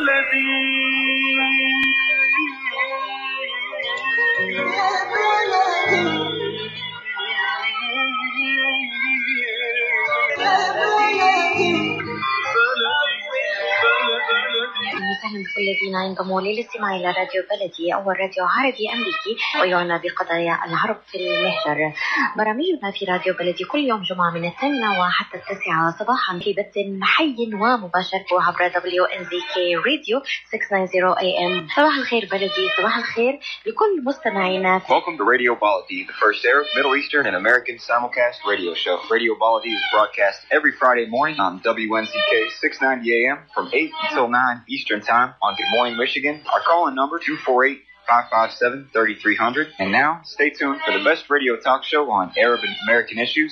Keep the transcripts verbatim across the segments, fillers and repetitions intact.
وسهلا بكل الذين ينضموا للاستماع إلى راديو بلدي، أول راديو عربي أمريكي ويعنى بقضايا العرب في المهجر. برامجنا في راديو بلدي كل يوم جمعة من الثامنة وحتى التاسعة صباحا في بث حي ومباشر عبر دبليو إن زي كي راديو ستمائة وتسعين إيه إم. صباح الخير بلدي، صباح الخير لكل مستمعينا. Welcome to Radio Baladi, the first Arab, Middle Eastern, and American simulcast radio show. Radio Baladi is broadcast every Friday morning on W N Z K six ninety A M from eight until nine Eastern Time on Good Morning Michigan. Our call-in number two four eight, five five seven, three three zero zero. And now, stay tuned for the best radio talk show on Arab and American issues.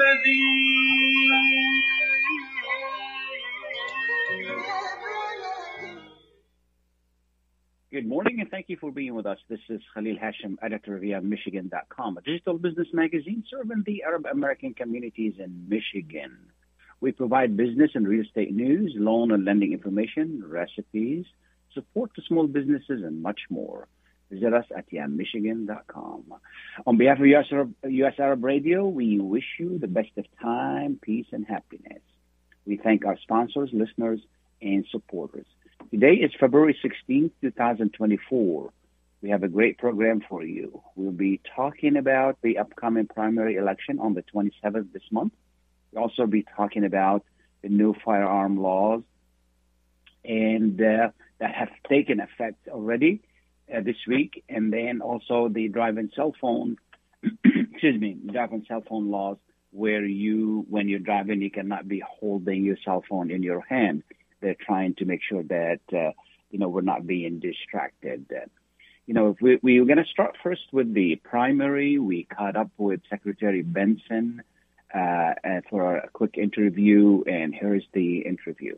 Good morning, and thank you for being with us. This is Khalil Hashim, editor via Michigan dot com, a digital business magazine serving the Arab American communities in Michigan. We provide business and real estate news, loan and lending information, recipes, support to small businesses, and much more. Visit us at yeah michigan dot com. On behalf of U S Arab, U S Arab Radio, we wish you the best of time, peace, and happiness. We thank our sponsors, listeners, and supporters. Today is February sixteenth, twenty twenty-four. We have a great program for you. We'll be talking about the upcoming primary election on the twenty-seventh this month. We'll also be talking about the new firearm laws and uh, that have taken effect already uh, this week, and then also the driving cell phone, excuse me, driving cell phone laws, where you, when you're driving, you cannot be holding your cell phone in your hand. They're trying to make sure that, uh, you know, we're not being distracted. Uh, you know, if we, we we're going to start first with the primary. We caught up with Secretary Benson uh, for a quick interview, and here's the interview.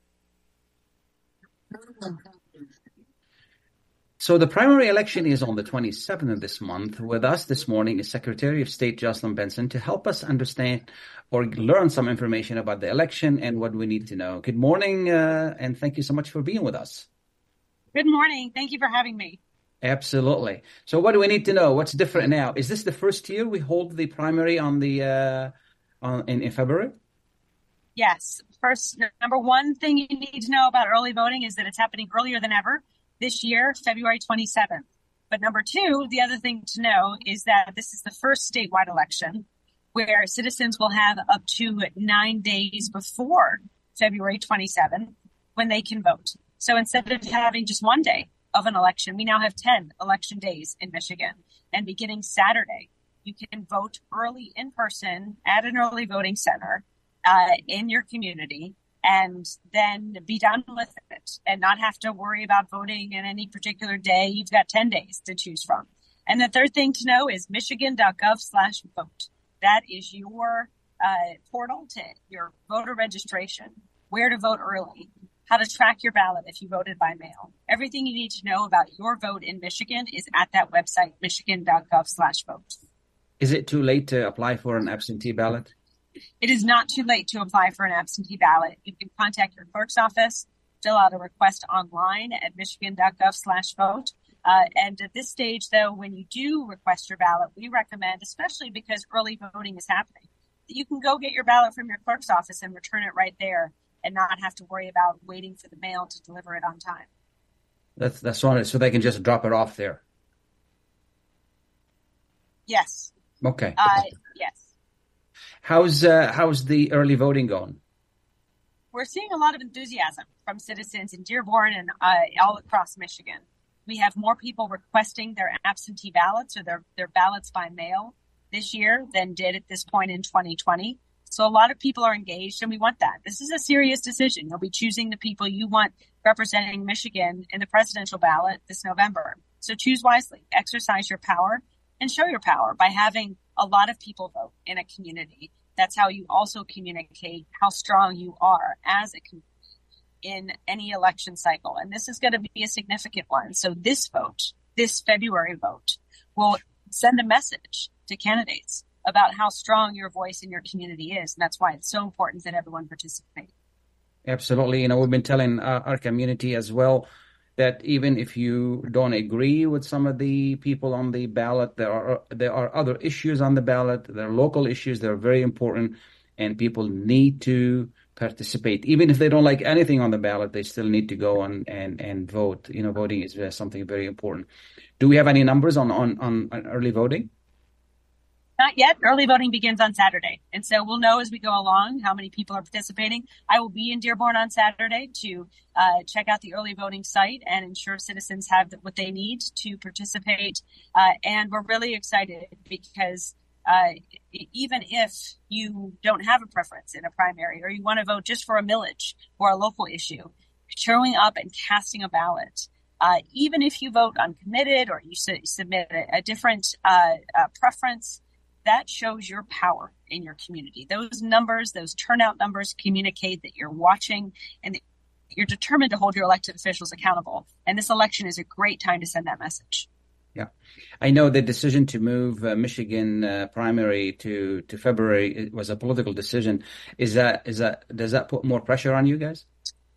So the primary election is on the twenty-seventh of this month. With us this morning is Secretary of State Jocelyn Benson to help us understand or learn some information about the election and what we need to know. Good morning, uh, and thank you so much for being with us. Good morning. Thank you for having me. Absolutely. So what do we need to know? What's different now? Is this the first year we hold the primary on the uh, on in, in February? Yes. First, number one thing you need to know about early voting is that it's happening earlier than ever. This year, February twenty-seventh. But number two, the other thing to know is that this is the first statewide election where citizens will have up to nine days before February twenty-seventh when they can vote. So instead of having just one day of an election, we now have ten election days in Michigan. And beginning Saturday, you can vote early in person at an early voting center uh, in your community, and then be done with it and not have to worry about voting in any particular day. You've got ten days to choose from. And the third thing to know is michigan dot gov slash vote. That is your uh, portal to your voter registration, where to vote early, how to track your ballot if you voted by mail. Everything you need to know about your vote in Michigan is at that website, michigan dot gov slash vote. Is it too late to apply for an absentee ballot? It is not too late to apply for an absentee ballot. You can contact your clerk's office, fill out a request online at michigan dot gov slash vote. Uh, and at this stage, though, when you do request your ballot, we recommend, especially because early voting is happening, that you can go get your ballot from your clerk's office and return it right there and not have to worry about waiting for the mail to deliver it on time. That's that's right. So they can just drop it off there. Yes. Okay. Uh, yes. How's uh, how's the early voting going? We're seeing a lot of enthusiasm from citizens in Dearborn and uh, all across Michigan. We have more people requesting their absentee ballots or their, their ballots by mail this year than did at this point in twenty twenty. So a lot of people are engaged, and we want that. This is a serious decision. You'll be choosing the people you want representing Michigan in the presidential ballot this November. So choose wisely, exercise your power, and show your power by having a lot of people vote in a community. That's how you also communicate how strong you are as a community in any election cycle. And this is going to be a significant one. So this vote, this February vote, will send a message to candidates about how strong your voice in your community is. And that's why it's so important that everyone participate. Absolutely. You know, we've been telling uh, our community as well that even if you don't agree with some of the people on the ballot, there are there are other issues on the ballot. There are local issues that are very important, and people need to participate. Even if they don't like anything on the ballot, they still need to go and and, and vote. You know, voting is something very important. Do we have any numbers on, on, on early voting? Not yet. Early voting begins on Saturday. And so we'll know as we go along how many people are participating. I will be in Dearborn on Saturday to uh, check out the early voting site and ensure citizens have what they need to participate. Uh, and we're really excited because uh, even if you don't have a preference in a primary or you want to vote just for a millage or a local issue, showing up and casting a ballot, uh, even if you vote uncommitted or you su- submit a, a different uh, uh, preference, that shows your power in your community. Those numbers, those turnout numbers communicate that you're watching and that you're determined to hold your elected officials accountable. And this election is a great time to send that message. Yeah. I know the decision to move uh, Michigan uh, primary to, to February it was a political decision. Is that, is that, does that put more pressure on you guys?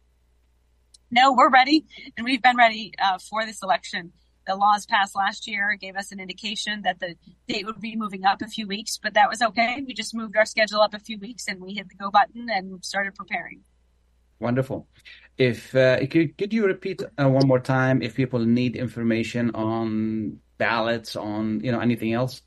No, we're ready. And we've been ready uh, for this election. The laws passed last year gave us an indication that the date would be moving up a few weeks, but that was okay. We just moved our schedule up a few weeks and we hit the go button and started preparing. Wonderful. If uh, could, could you repeat uh, one more time if people need information on ballots, on you know anything else?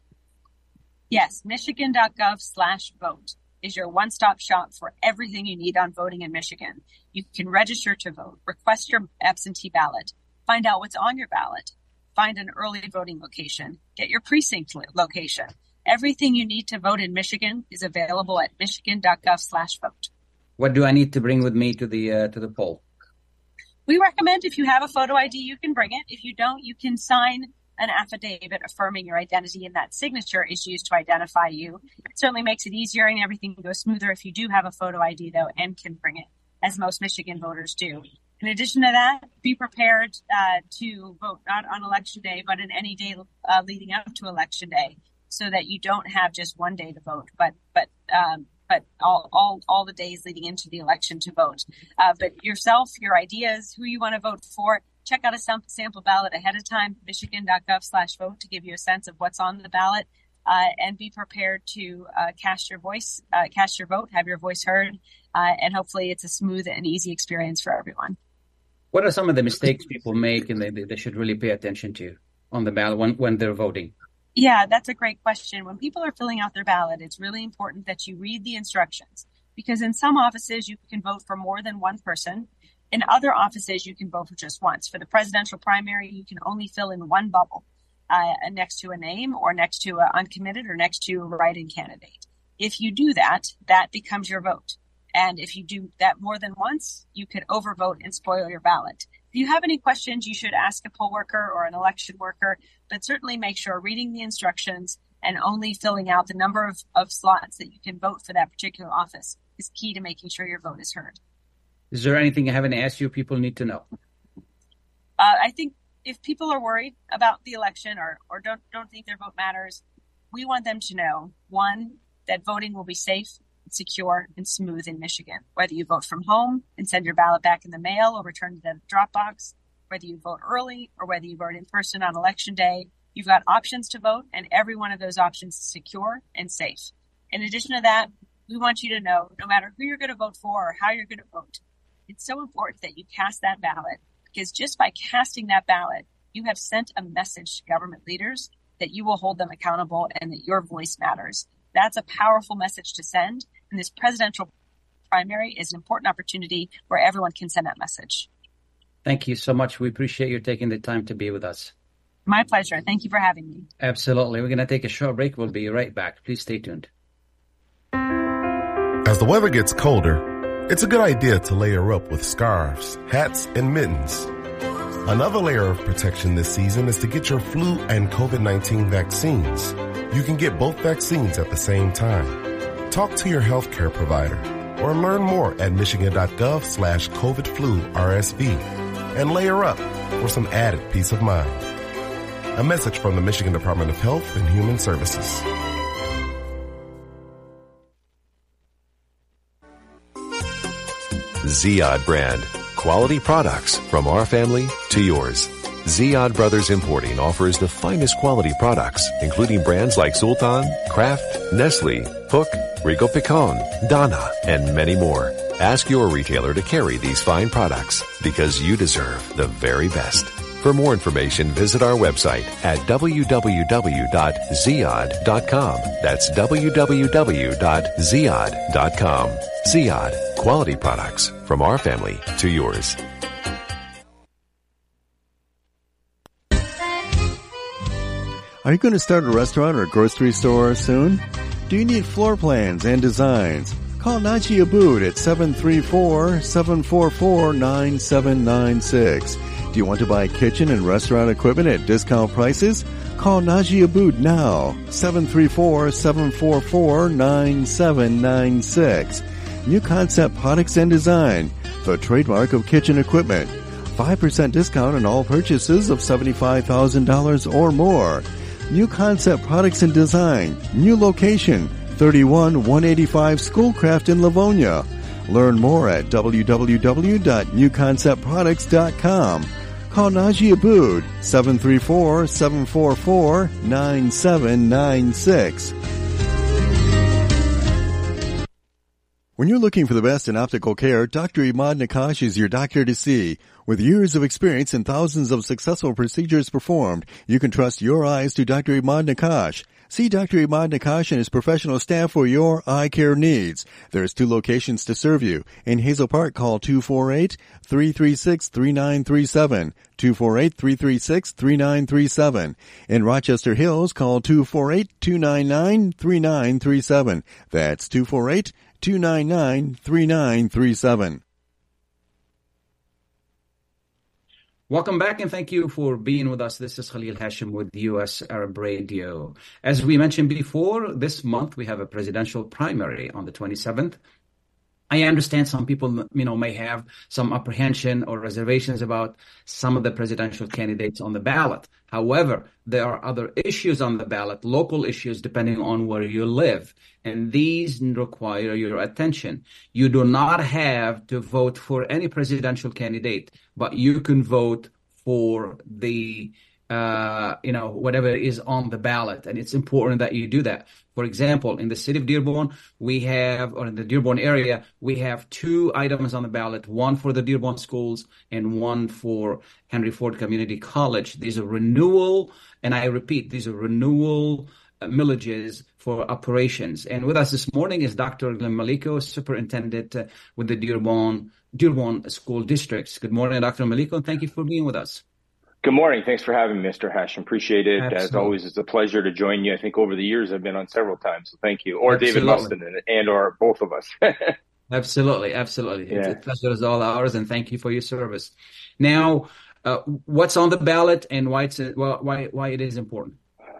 Yes, michigan.gov slash vote is your one-stop shop for everything you need on voting in Michigan. You can register to vote, request your absentee ballot, find out what's on your ballot, find an early voting location, get your precinct location. Everything you need to vote in Michigan is available at michigan.gov slash vote. What do I need to bring with me to the uh, to the poll? We recommend if you have a photo I D, you can bring it. If you don't, you can sign an affidavit affirming your identity, and that signature is used to identify you. It certainly makes it easier and everything goes smoother if you do have a photo I D, though, and can bring it, as most Michigan voters do. In addition to that, be prepared uh, to vote not on Election Day, but in any day uh, leading up to Election Day, so that you don't have just one day to vote, but but um, but all, all all the days leading into the election to vote. Uh, but yourself, your ideas, who you want to vote for, check out a sam- sample ballot ahead of time, michigan.gov slash vote, to give you a sense of what's on the ballot, uh, and be prepared to uh, cast your voice, uh, cast your vote, have your voice heard, uh, and hopefully it's a smooth and easy experience for everyone. What are some of the mistakes people make and they, they should really pay attention to on the ballot when, when they're voting? Yeah, that's a great question. When people are filling out their ballot, it's really important that you read the instructions, because in some offices you can vote for more than one person. In other offices, you can vote for just once. For the presidential primary, you can only fill in one bubble uh, next to a name or next to an uncommitted or next to a write-in candidate. If you do that, that becomes your vote. And if you do that more than once, you could overvote and spoil your ballot. If you have any questions, you should ask a poll worker or an election worker, but certainly make sure reading the instructions and only filling out the number of, of slots that you can vote for that particular office is key to making sure your vote is heard. Is there anything I haven't asked you people need to know? Uh, I think if people are worried about the election or, or don't, don't think their vote matters, we want them to know, one, that voting will be safe, secure, and smooth in Michigan. Whether you vote from home and send your ballot back in the mail or return to the drop box, whether you vote early or whether you vote in person on Election Day, you've got options to vote, and every one of those options is secure and safe. In addition to that, we want you to know, no matter who you're going to vote for or how you're going to vote, it's so important that you cast that ballot, because just by casting that ballot, you have sent a message to government leaders that you will hold them accountable and that your voice matters. That's a powerful message to send. And this presidential primary is an important opportunity where everyone can send that message. Thank you so much. We appreciate you taking the time to be with us. My pleasure. Thank you for having me. Absolutely. We're going to take a short break. We'll be right back. Please stay tuned. As the weather gets colder, it's a good idea to layer up with scarves, hats, and mittens. Another layer of protection this season is to get your flu and COVID nineteen vaccines. You can get both vaccines at the same time. Talk to your healthcare provider or learn more at michigan.gov slash COVID flu RSV and layer up for some added peace of mind. A message from the Michigan Department of Health and Human Services. Ziyad brand. Quality products from our family to yours. Ziyad Brothers Importing offers the finest quality products, including brands like Sultan, Kraft, Nestle, Hook, Rico Picon, Donna, and many more. Ask your retailer to carry these fine products because you deserve the very best. For more information, visit our website at w w w dot ziyad dot com. That's w w w dot ziyad dot com. Ziyad, quality products from our family to yours. Are you going to start a restaurant or grocery store soon? Do you need floor plans and designs? Call Najee Abood at seven three four, seven four four, nine seven nine six. Do you want to buy kitchen and restaurant equipment at discount prices? Call Najee Abood now, seven three four, seven four four, nine seven nine six. New Concept Products and Design, the trademark of kitchen equipment. five percent discount on all purchases of seventy-five thousand dollars or more. New Concept Products and Design, new location, thirty-one one eighty-five Schoolcraft in Livonia. Learn more at w w w dot new concept products dot com. Call Najee Abood, seven three four, seven four four, nine seven nine six. When you're looking for the best in optical care, Doctor Imad Nakash is your doctor to see. With years of experience and thousands of successful procedures performed, you can trust your eyes to Doctor Imad Nakash. See Doctor Imad Nakash and his professional staff for your eye care needs. There's two locations to serve you. In Hazel Park, call two four eight, three three six, three nine three seven, two four eight, three three six, three nine three seven. In Rochester Hills, call two four eight, two nine nine, three nine three seven. That's two four eight, two nine nine, three nine three seven. Welcome back, and thank you for being with us. This is Khalil Hashim with U S Arab Radio. As we mentioned before, this month we have a presidential primary on the twenty-seventh. I understand some people, you know, may have some apprehension or reservations about some of the presidential candidates on the ballot. However, there are other issues on the ballot, local issues, depending on where you live. And these require your attention. You do not have to vote for any presidential candidate, but you can vote for the Uh, you know, whatever is on the ballot. And it's important that you do that. For example, in the city of Dearborn, we have, or in the Dearborn area, we have two items on the ballot, one for the Dearborn schools and one for Henry Ford Community College. These are renewal, and I repeat, these are renewal uh, millages for operations. And with us this morning is Doctor Glenn Maliko, superintendent uh, with the Dearborn, Dearborn School Districts. Good morning, Doctor Maliko, and thank you for being with us. Good morning. Thanks for having me, Mister Hashim. Appreciate it. Absolutely. As always, it's a pleasure to join you. I think over the years I've been on several times, so thank you. Or absolutely. David Mustin and, and or both of us. Absolutely, absolutely. Yeah. It's a pleasure as all ours, and thank you for your service. Now, uh, what's on the ballot and why it's why why it is important?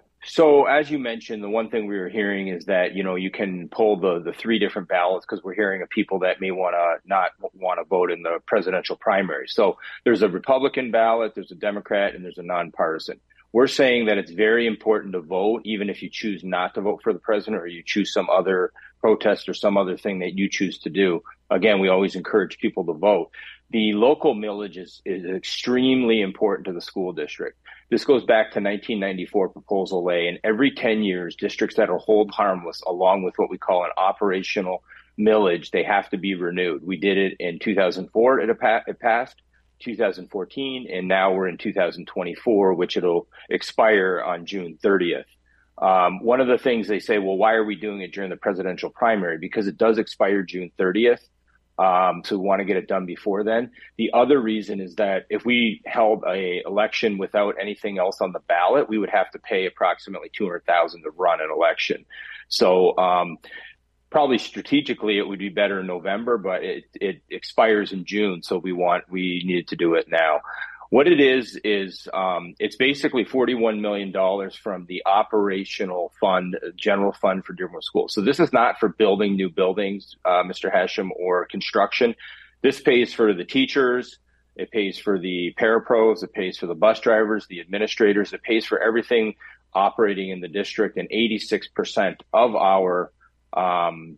So as you mentioned, the one thing we were hearing is that, you know, you can pull the, the three different ballots because we're hearing of people that may want to not want to vote in the presidential primary. So there's a Republican ballot, there's a Democrat, and there's a nonpartisan. We're saying that it's very important to vote, even if you choose not to vote for the president or you choose some other protest or some other thing that you choose to do. Again, we always encourage people to vote. The local millage is, is extremely important to the school district. This goes back to nineteen ninety-four Proposal A, and every ten years, districts that are hold harmless, along with what we call an operational millage, they have to be renewed. We did it in two thousand four, it, it passed, two thousand fourteen, and now we're in two thousand twenty-four, which it'll expire on June thirtieth. Um, one of the things they say, well, why are we doing it during the presidential primary? Because it does expire June thirtieth. Um, so we want to get it done before then. The other reason is that if we held a election without anything else on the ballot, we would have to pay approximately two hundred thousand dollars to run an election. So, um, probably strategically it would be better in November, but it, it expires in June. So we want, we needed to do it now. What it is, is um, it's basically forty-one million dollars from the operational fund, general fund for Dearborn Schools. So this is not for building new buildings, uh, Mister Hashim, or construction. This pays for the teachers. It pays for the parapros. It pays for the bus drivers, the administrators. It pays for everything operating in the district. And eighty-six percent of our, um,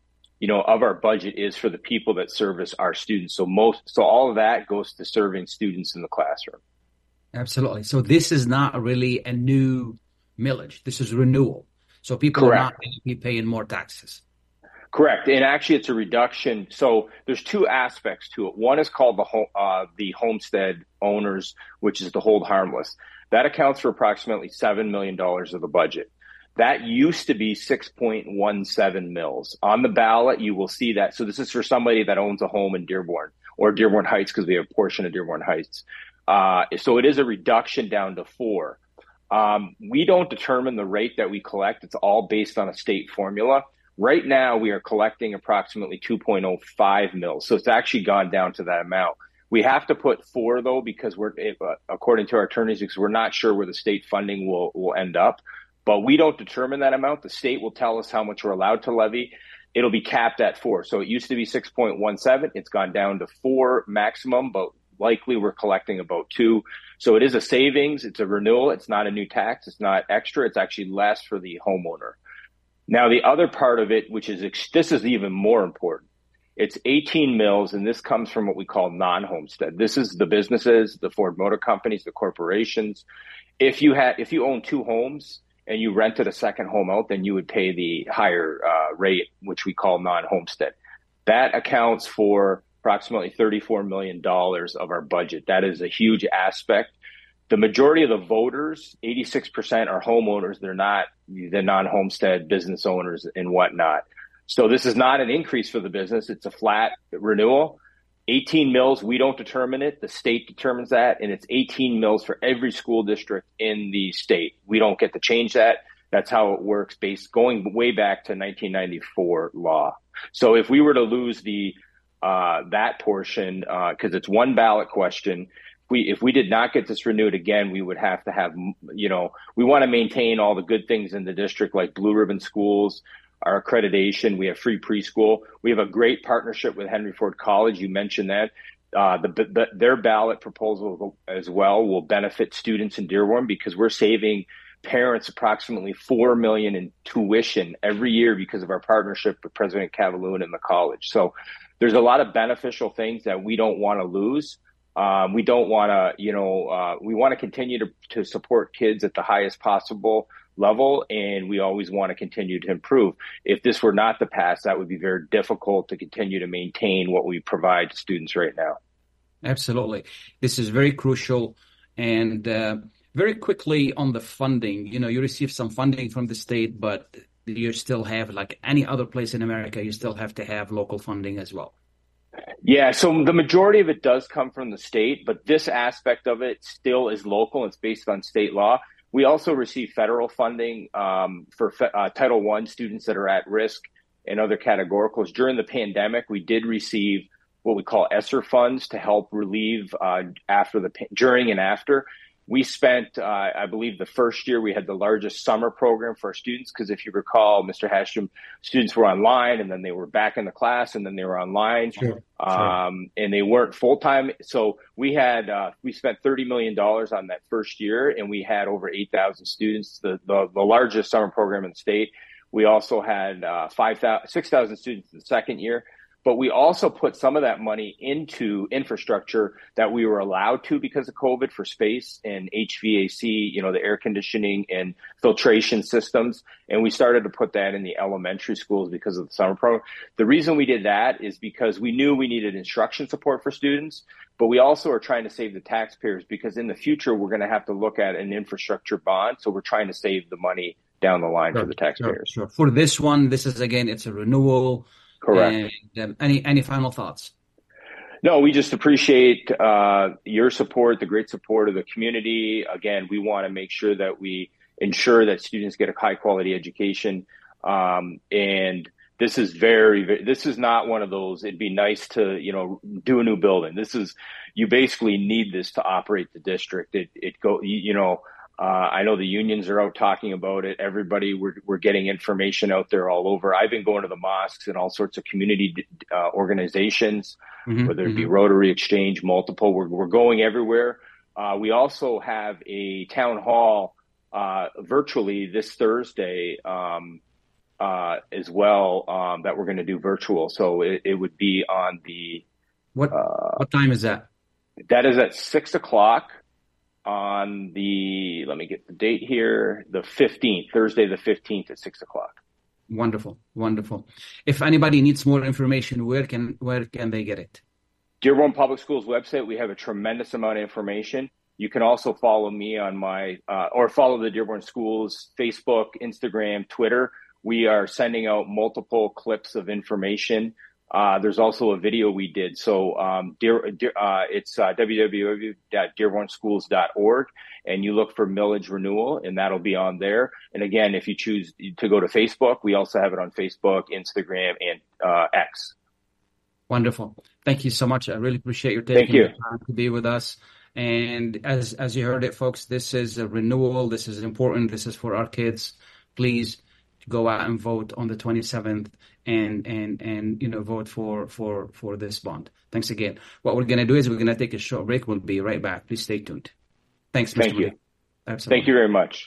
you know, of our budget is for the people that service our students. So most, so all of that goes to serving students in the classroom. Absolutely. So this is not really a new millage. This is renewal. So people Correct. are not going to be paying more taxes. Correct. And actually it's a reduction. So there's two aspects to it. One is called the home, uh, the homestead owners, which is the hold harmless. That accounts for approximately seven million dollars of the budget. That used to be six point one seven mils. On the ballot, you will see that. So this is for somebody that owns a home in Dearborn or Dearborn Heights, because we have a portion of Dearborn Heights. Uh, so it is a reduction down to four. Um, we don't determine the rate that we collect. It's all based on a state formula. Right now, we are collecting approximately two point oh five mils. So it's actually gone down to that amount. We have to put four, though, because we're, uh, according to our attorneys, because we're not sure where the state funding will, will end up. But we don't determine that amount. The state will tell us how much we're allowed to levy. It'll be capped at four. So it used to be six point one seven. It's gone down to four maximum, but likely we're collecting about two. So it is a savings. It's a renewal. It's not a new tax. It's not extra. It's actually less for the homeowner. Now, the other part of it, which is, this is even more important. It's eighteen mils, and this comes from what we call non-homestead. This is the businesses, the Ford Motor Companies, the corporations. If you had, if you own two homes and you rented a second home out, then you would pay the higher uh, rate, which we call non-homestead. That accounts for approximately thirty-four million dollars of our budget. That is a huge aspect. The majority of the voters, eighty-six percent, are homeowners. They're not the non-homestead business owners and whatnot. So this is not an increase for the business. It's a flat renewal. eighteen mils, we don't determine it. The state determines that, and it's eighteen mils for every school district in the state. We don't get to change that. That's how it works, based going way back to nineteen ninety-four law. So if we were to lose the uh, that portion, because uh, it's one ballot question, we if we did not get this renewed again, we would have to have, you know, we want to maintain all the good things in the district, like blue ribbon schools, our accreditation. We have free preschool. We have a great partnership with Henry Ford College. You mentioned that. Uh, the, the, their ballot proposal as well will benefit students in Dearborn, because we're saving parents approximately four million dollars in tuition every year because of our partnership with President Cavaloon and the college. So there's a lot of beneficial things that we don't want to lose. Um, we don't want to, you know, uh, we want to continue to, to support kids at the highest possible level, and we always want to continue to improve. If this were not to pass, that would be very difficult to continue to maintain what we provide to students right now. Absolutely. This is very crucial. And uh, very quickly on the funding, you know, you receive some funding from the state, but you still have, like any other place in America, you still have to have local funding as well. Yeah, so the majority of it does come from the state, but this aspect of it still is local. It's based on state law. We also receive federal funding um, for uh, Title One students that are at risk and other categoricals. During the pandemic, we did receive what we call ESSER funds to help relieve uh, after the during and after. We spent, uh, I believe, the first year we had the largest summer program for our students, because if you recall, Mister Hashim, students were online and then they were back in the class and then they were online, sure, um, sure. and they weren't full time. So we had uh, we spent thirty million dollars on that first year, and we had over eight thousand students, the, the the largest summer program in the state. We also had uh, five thousand, six thousand students in the second year. But we also put some of that money into infrastructure that we were allowed to because of COVID, for space and H V A C, you know, the air conditioning and filtration systems. And we started to put that in the elementary schools because of the summer program. The reason we did that is because we knew we needed instruction support for students, but we also are trying to save the taxpayers, because in the future, we're going to have to look at an infrastructure bond. So we're trying to save the money down the line sure, for the taxpayers. Sure, sure. For this one, this is, again, it's a renewal. Correct. And, um, any any final thoughts? No, we just appreciate uh, your support, the great support of the community. Again, we want to make sure that we ensure that students get a high quality education. Um, and this is very, very, this is not one of those, it'd be nice to, you know, do a new building. This is, you basically need this to operate the district. It, it go, you, you know, Uh, I know the unions are out talking about it. Everybody, we're, we're getting information out there all over. I've been going to the mosques and all sorts of community uh, organizations, mm-hmm, whether it mm-hmm. be Rotary, Exchange, multiple. We're, we're going everywhere. Uh, we also have a town hall uh, virtually this Thursday um, uh, as well um, that we're going to do virtual. So it, it would be on the what uh, what time is that? That is at six o'clock on the. Let me get the date here. The fifteenth, Thursday the fifteenth at six o'clock. Wonderful, wonderful. If anybody needs more information, where can where can they get it? Dearborn Public Schools website. We have a tremendous amount of information. You can also follow me on my, uh, or follow the Dearborn Schools Facebook, Instagram, Twitter. We are sending out multiple clips of information. Uh, there's also a video we did. So, um, dear, dear, uh, it's uh, w w w dot dearborn schools dot org, and you look for millage renewal, and that'll be on there. And again, if you choose to go to Facebook, we also have it on Facebook, Instagram, and uh, X. Wonderful. Thank you so much. I really appreciate your taking Thank you. the time to be with us. And as as you heard it, folks, this is a renewal. This is important. This is for our kids. Please go out and vote on the twenty-seventh and and and you know vote for for for this bond. Thanks again. What we're going to do is we're going to take a short break. We'll be right back. Please stay tuned. Thanks, Mister Thank you. Lee. Absolutely. Thank you very much.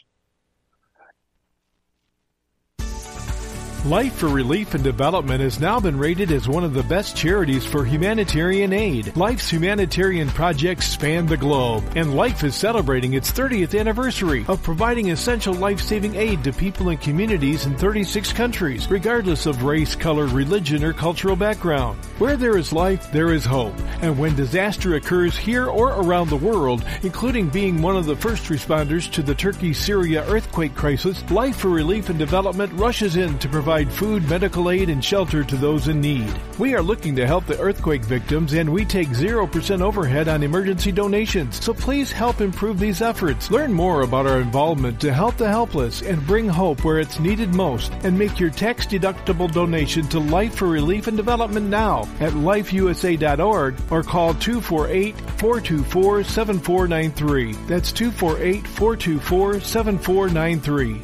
Life for Relief and Development has now been rated as one of the best charities for humanitarian aid. Life's humanitarian projects span the globe, and Life is celebrating its thirtieth anniversary of providing essential life-saving aid to people and communities in thirty-six countries, regardless of race, color, religion, or cultural background. Where there is life, there is hope. And when disaster occurs here or around the world, including being one of the first responders to the Turkey-Syria earthquake crisis, Life for Relief and Development rushes in to provide food, medical aid, and shelter to those in need. We are looking to help the earthquake victims, and we take zero percent overhead on emergency donations. So please help improve these efforts. Learn more about our involvement to help the helpless and bring hope where it's needed most, and make your tax-deductible donation to Life for Relief and Development now at life u s a dot org or call two four eight, four two four, seven four nine three. That's two four eight, four two four, seven four nine three.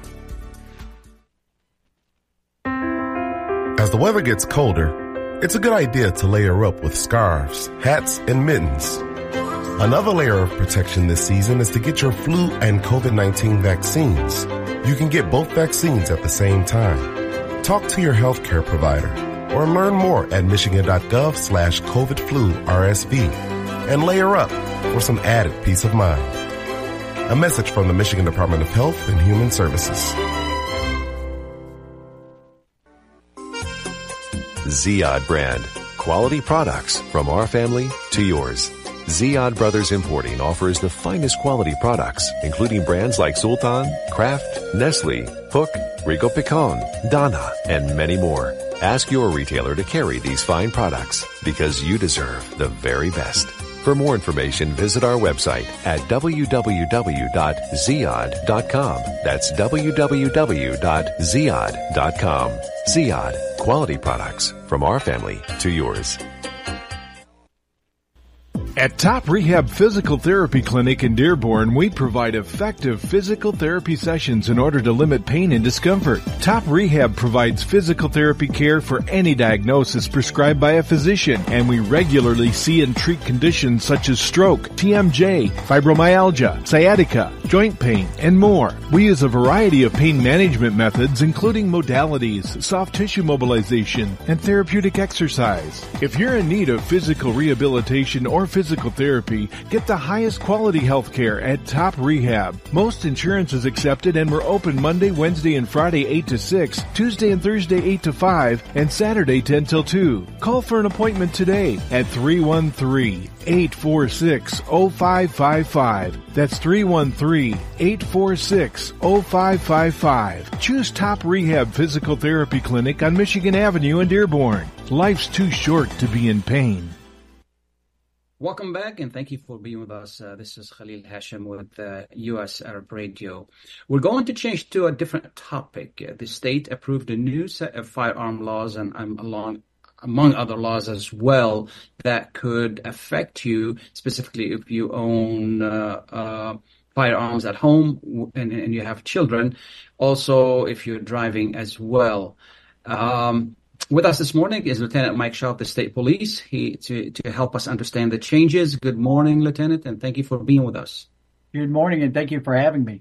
As the weather gets colder, it's a good idea to layer up with scarves, hats, and mittens. Another layer of protection this season is to get your flu and COVID nineteen vaccines. You can get both vaccines at the same time. Talk to your healthcare provider or learn more at michigan.gov slash COVID flu RSV and layer up for some added peace of mind. A message from the Michigan Department of Health and Human Services. Ziyad brand. Quality products from our family to yours. Ziyad Brothers Importing offers the finest quality products, including brands like Sultan, Kraft, Nestle, Hook, Rico Picon, Donna, and many more. Ask your retailer to carry these fine products because you deserve the very best. For more information, visit our website at w w w dot ziyad dot com. That's w w w dot ziyad dot com. Ziyad, quality products from our family to yours. At Top Rehab Physical Therapy Clinic in Dearborn, we provide effective physical therapy sessions in order to limit pain and discomfort. Top Rehab provides physical therapy care for any diagnosis prescribed by a physician, and we regularly see and treat conditions such as stroke, T M J, fibromyalgia, sciatica, joint pain, and more. We use a variety of pain management methods, including modalities, soft tissue mobilization, and therapeutic exercise. If you're in need of physical rehabilitation or physical Physical therapy, get the highest quality health care at Top Rehab. Most insurance is accepted, and we're open Monday, Wednesday, and Friday eight to six, Tuesday and Thursday eight to five, and Saturday ten till two. Call for an appointment today at three one three, eight four six, zero five five five. That's three one three, eight four six, zero five five five. Choose Top Rehab Physical Therapy Clinic on Michigan Avenue in Dearborn. Life's too short to be in pain. Welcome back, and thank you for being with us. Uh, this is Khalil Hashim with uh, U S Arab Radio. We're going to change to a different topic. Uh, the state approved a new set of firearm laws, and um, along among other laws as well, that could affect you, specifically if you own uh, uh, firearms at home and, and you have children. Also, if you're driving as well. Um, With us this morning is Lieutenant Mike Shaw of the State Police he, to, to help us understand the changes. Good morning, Lieutenant, and thank you for being with us. Good morning, and thank you for having me.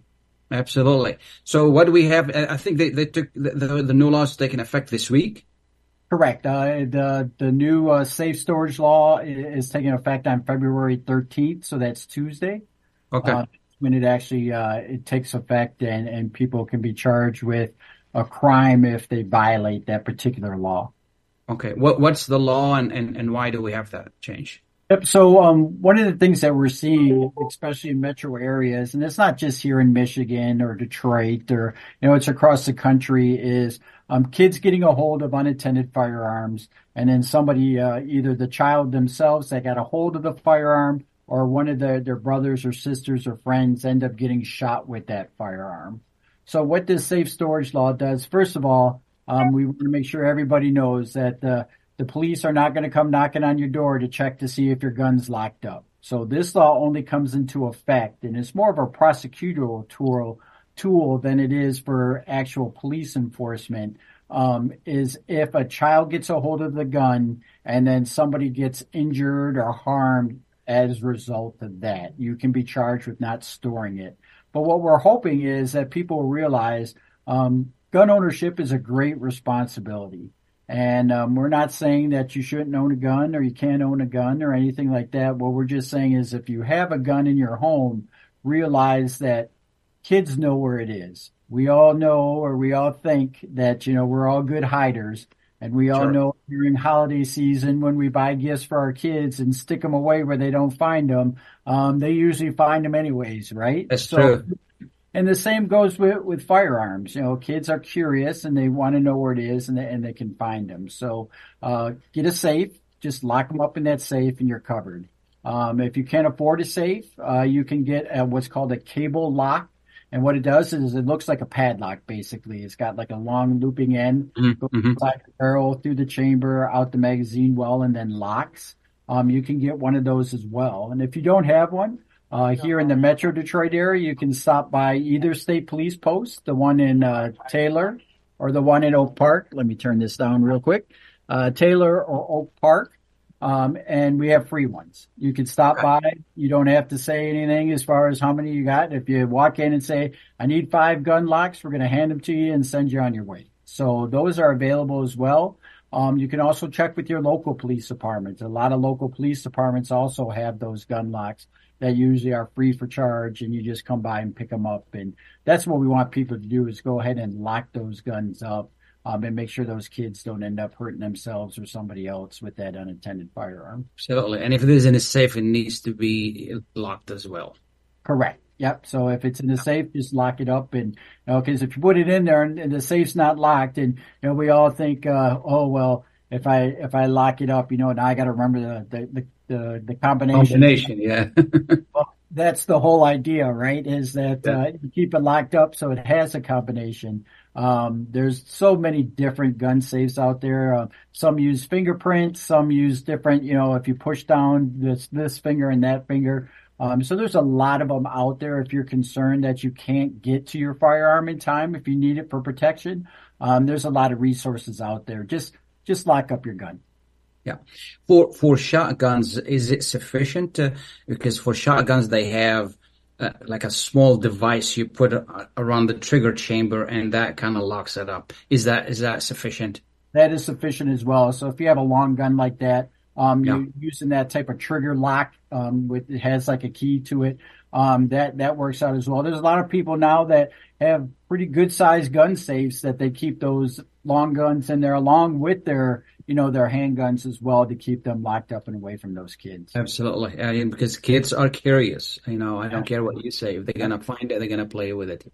Absolutely. So what do we have? I think they, they took the, the, the new laws taking effect this week. Correct. Uh, the the new uh, safe storage law is, is taking effect on February thirteenth, so that's Tuesday. Okay. Uh, when it actually uh, it takes effect, and, and people can be charged with a crime if they violate that particular law. Okay. What what's the law, and, and, and why do we have that change? Yep. So um, one of the things that we're seeing, especially in metro areas, and it's not just here in Michigan or Detroit, or you know, it's across the country, is um, kids getting a hold of unattended firearms, and then somebody, uh, either the child themselves that got a hold of the firearm, or one of their, their brothers or sisters or friends end up getting shot with that firearm. So what this safe storage law does, first of all, um, we want to make sure everybody knows that the The police are not going to come knocking on your door to check to see if your gun's locked up. So this law only comes into effect, and it's more of a prosecutorial tool, tool than it is for actual police enforcement, um, is if a child gets a hold of the gun and then somebody gets injured or harmed as a result of that. You can be charged with not storing it. But what we're hoping is that people realize um, gun ownership is a great responsibility. And um, we're not saying that you shouldn't own a gun or you can't own a gun or anything like that. What we're just saying is if you have a gun in your home, realize that kids know where it is. We all know, or we all think that, you know, we're all good hiders. And we all Sure. know during holiday season when we buy gifts for our kids and stick them away where they don't find them, um, they usually find them anyways, right? That's so, true. And the same goes with, with firearms. You know, kids are curious and they want to know where it is, and they, and they can find them. So, uh, get a safe, just lock them up in that safe and you're covered. Um, if you can't afford a safe, uh, you can get a, what's called a cable lock. And what it does is it looks like a padlock, basically. It's got like a long looping end, Mm-hmm. goes inside the barrel, through the chamber, out the magazine well, and then locks. Um, you can get one of those as well. And if you don't have one, Uh, here in the Metro Detroit area, you can stop by either state police post, the one in uh, Taylor or the one in Oak Park. Let me turn this down real quick. Uh, Taylor or Oak Park. Um, and we have free ones. You can stop by. You don't have to say anything as far as how many you got. If you walk in and say, I need five gun locks, we're going to hand them to you and send you on your way. So those are available as well. Um, you can also check with your local police departments. A lot of local police departments also have those gun locks that usually are free for charge, and you just come by and pick them up. And that's what we want people to do, is go ahead and lock those guns up, um, and make sure those kids don't end up hurting themselves or somebody else with that unattended firearm. Absolutely. And if it is in a safe, it needs to be locked as well. Correct. Yep. So if it's in the safe, just lock it up. And, you know, because if you put it in there and, and the safe's not locked, and, you know, we all think, uh, oh, well, if I, if I lock it up, you know, now I got to remember the, the, the, the, the combination. Combination, yeah. Well, that's the whole idea, right? Is that, Yeah. uh, you keep it locked up so it has a combination. Um, there's so many different gun safes out there. Uh, some use fingerprints, some use different, you know, if you push down this, this finger and that finger. Um, so there's a lot of them out there. If you're concerned that you can't get to your firearm in time, if you need it for protection, um, there's a lot of resources out there. Just, just lock up your gun. Yeah. For, for shotguns, is it sufficient to, because for shotguns, they have uh, like a small device you put uh, around the trigger chamber, and that kind of locks it up. Is that, is that sufficient? That is sufficient as well. So if you have a long gun like that, Um, Yeah. you're using that type of trigger lock, um, with, it has like a key to it. Um, that, that works out as well. There's a lot of people now that have pretty good sized gun safes that they keep those long guns in there along with their, you know, their handguns as well, to keep them locked up and away from those kids. Absolutely. Uh, because kids are curious. You know, I don't care what you say. If they're going to find it, they're going to play with it.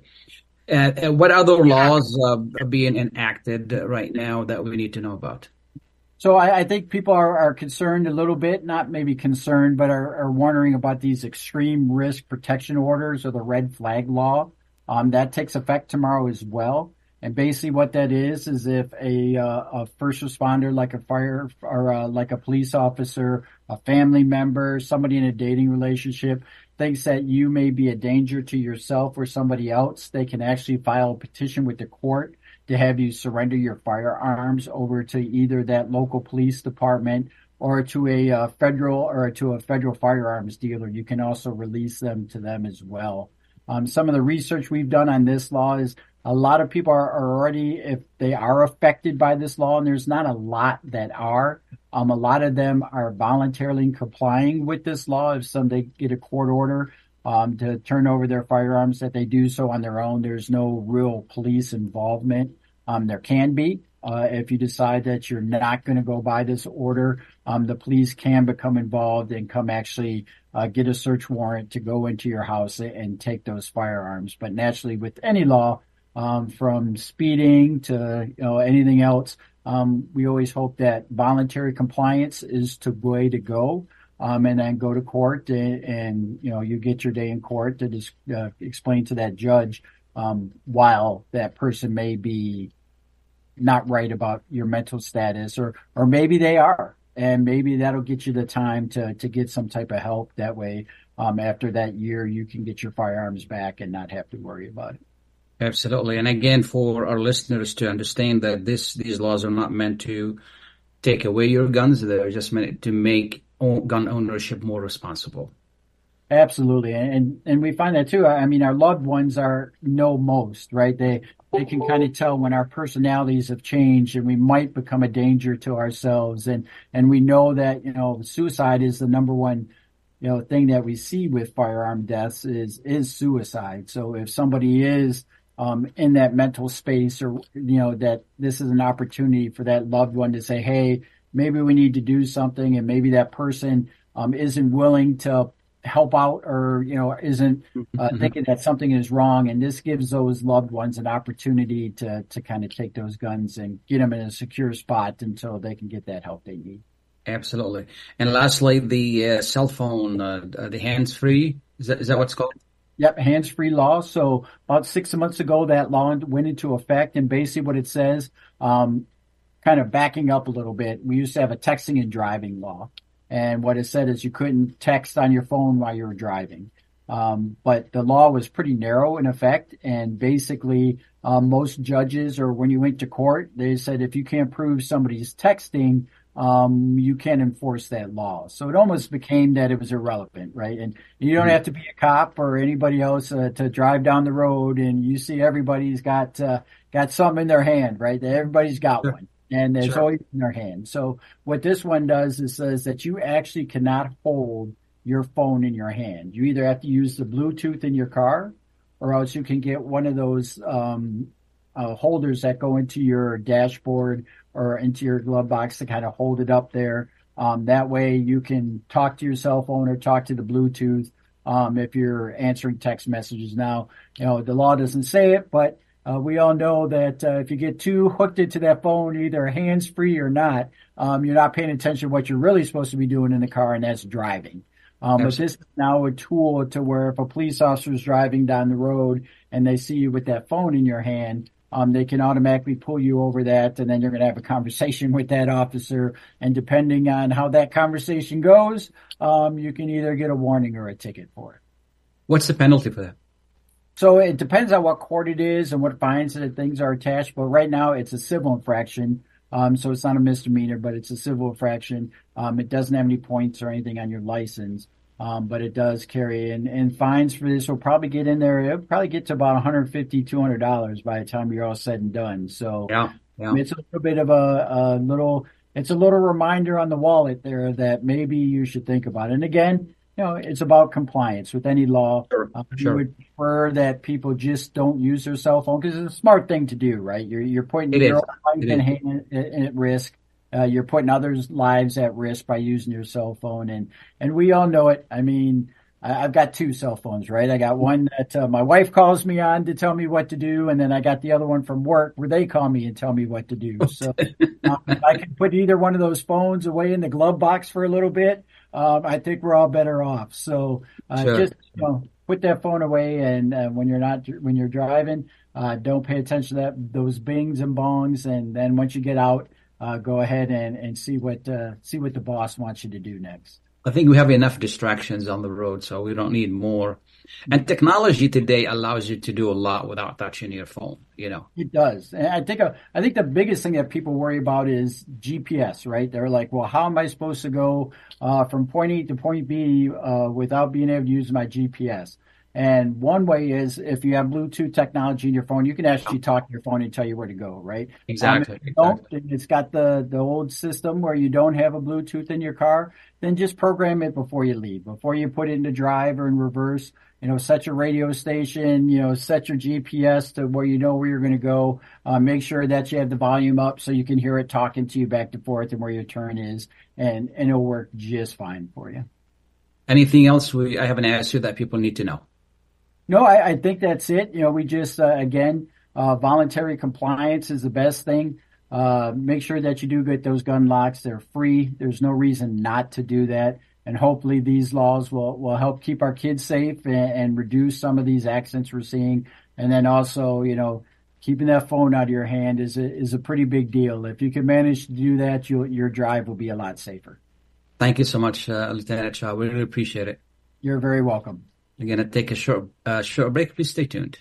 Uh, uh, what other laws uh, are being enacted right now that we need to know about? So I, I think people are, are concerned a little bit, not maybe concerned, but are, are wondering about these extreme risk protection orders, or the red flag law. Um, that takes effect tomorrow as well. And basically what that is, is if a, uh, a first responder, like a fire or uh, like a police officer, a family member, somebody in a dating relationship thinks that you may be a danger to yourself or somebody else, they can actually file a petition with the court to have you surrender your firearms over to either that local police department or to a uh, federal or to a federal firearms dealer. You can also release them to them as well. Um, some of the research we've done on this law is a lot of people are, are already, if they are affected by this law, and there's not a lot that are, um, a lot of them are voluntarily complying with this law. If some they get a court order um, to turn over their firearms, that they do so on their own. There's no real police involvement. Um, there can be. Uh, if you decide that you're not going to go by this order, um, the police can become involved and come actually uh, get a search warrant to go into your house and take those firearms. But naturally, with any law, um, from speeding to you know anything else, um, we always hope that voluntary compliance is the way to go. Um, and then go to court and, and you know you get your day in court to just uh, explain to that judge um, while that person may be not right about your mental status, or or maybe they are, and maybe that'll get you the time to to get some type of help. That way, um, after that year, you can get your firearms back and not have to worry about it. Absolutely. And again, for our listeners to understand that this these laws are not meant to take away your guns; they're just meant to make gun ownership more responsible. Absolutely, and and we find that too. I mean, our loved ones are know most, right? They they can kind of tell when our personalities have changed and we might become a danger to ourselves. And and we know that, you know, suicide is the number one, you know, thing that we see with firearm deaths is is suicide. So if somebody is um in that mental space, or you know, that this is an opportunity for that loved one to say, hey, maybe we need to do something, and maybe that person um isn't willing to help out, or you know isn't uh, thinking that something is wrong, and this gives those loved ones an opportunity to to kind of take those guns and get them in a secure spot until they can get that help they need. Absolutely. And lastly, the uh, cell phone, uh, the hands-free, is that is that what's called? Yep, hands-free law. So about six months ago, that law went into effect, and basically what it says, um, kind of backing up a little bit, we used to have a texting and driving law. And what it said is you couldn't text on your phone while you were driving. Um, but the law was pretty narrow in effect. And basically, um, most judges, or when you went to court, they said if you can't prove somebody's texting, um, you can't enforce that law. So it almost became that it was irrelevant, right? And you don't have to be a cop or anybody else uh, to drive down the road and you see everybody's got uh, got something in their hand, right? Everybody's got one. And it's Sure. always in their hand. So what this one does is says that you actually cannot hold your phone in your hand. You either have to use the Bluetooth in your car, or else you can get one of those um, uh, holders that go into your dashboard or into your glove box to kind of hold it up there. Um, that way you can talk to your cell phone or talk to the Bluetooth um, if you're answering text messages. Now, you know, the law doesn't say it, but Uh, we all know that uh, if you get too hooked into that phone, either hands-free or not, um, you're not paying attention to what you're really supposed to be doing in the car, and that's driving. Um, but this is now a tool to where if a police officer is driving down the road and they see you with that phone in your hand, um, they can automatically pull you over that, and then you're going to have a conversation with that officer. And depending on how that conversation goes, um, you can either get a warning or a ticket for it. What's the penalty for that? So it depends on what court it is and what fines that things are attached. But right now it's a civil infraction. Um, so it's not a misdemeanor, but it's a civil infraction. Um, it doesn't have any points or anything on your license. Um, but it does carry, and, and fines for this will probably get in there. It'll probably get to about one hundred fifty dollars, two hundred dollars by the time you're all said and done. So Yeah, yeah. it's a little bit of a, a little, it's a little reminder on the wallet there that maybe you should think about it. And again, you know, it's about compliance with any law. Sure, Um, sure. You would prefer that people just don't use their cell phone because it's a smart thing to do, right? You're you're putting It your is. own life It in, is. hand, in, at risk. Uh, you're putting others' lives at risk by using your cell phone, and and we all know it. I mean, I, I've got two cell phones, right? I got one that uh, my wife calls me on to tell me what to do, and then I got the other one from work where they call me and tell me what to do. So um, if I can put either one of those phones away in the glove box for a little bit, um, I think we're all better off. So uh, Sure. just you know, put that phone away, and uh, when you're not when you're driving, uh, don't pay attention to that those bings and bongs, and then once you get out, uh, go ahead and, and see what uh, see what the boss wants you to do next. I think we have enough distractions on the road, so we don't need more. And technology today allows you to do a lot without touching your phone, you know. It does. And I think uh, I think the biggest thing that people worry about is G P S, right? They're like, well, how am I supposed to go uh, from point A to point B uh, without being able to use my G P S? And one way is if you have Bluetooth technology in your phone, you can actually talk to your phone and tell you where to go, right? Exactly. Um, if you don't, exactly. it's got the, the old system where you don't have a Bluetooth in your car, then just program it before you leave, before you put it into drive or in reverse. You know, set your radio station, you know, set your G P S to where you know where you're going to go. Uh, make sure that you have the volume up so you can hear it talking to you back and forth and where your turn is, and, and it'll work just fine for you. Anything else we, I haven't asked you that people need to know? No, I, I think that's it. You know, we just, uh, again, uh, voluntary compliance is the best thing. Uh, make sure that you do get those gun locks. They're free. There's no reason not to do that. And hopefully these laws will, will help keep our kids safe and, and reduce some of these accidents we're seeing. And then also, you know, keeping that phone out of your hand is a, is a pretty big deal. If you can manage to do that, you'll, your drive will be a lot safer. Thank you so much, uh, Lieutenant Shah. We really appreciate it. You're very welcome. We're going to take a short, uh, short break. Please stay tuned.